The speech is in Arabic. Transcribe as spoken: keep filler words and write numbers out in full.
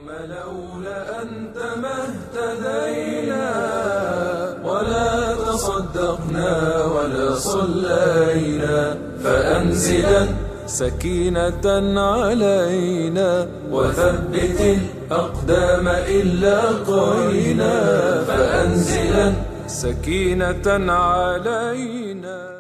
لولا أنت ما اهتدينا ولا تصدقنا ولا صلينا، فأنزلا سكينة علينا وثبت الأقدام إن لاقينا، فأنزلا سكينة علينا.